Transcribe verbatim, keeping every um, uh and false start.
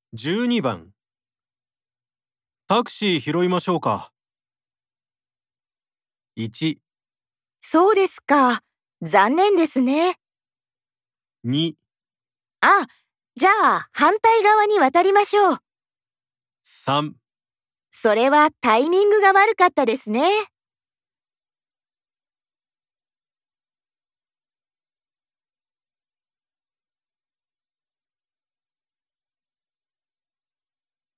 じゅうにばんタクシー拾いましょうか。いち、 そうですか。残念ですね。 に、 あ、じゃあ反対側に渡りましょう。 さんそれはタイミングが悪かったですね。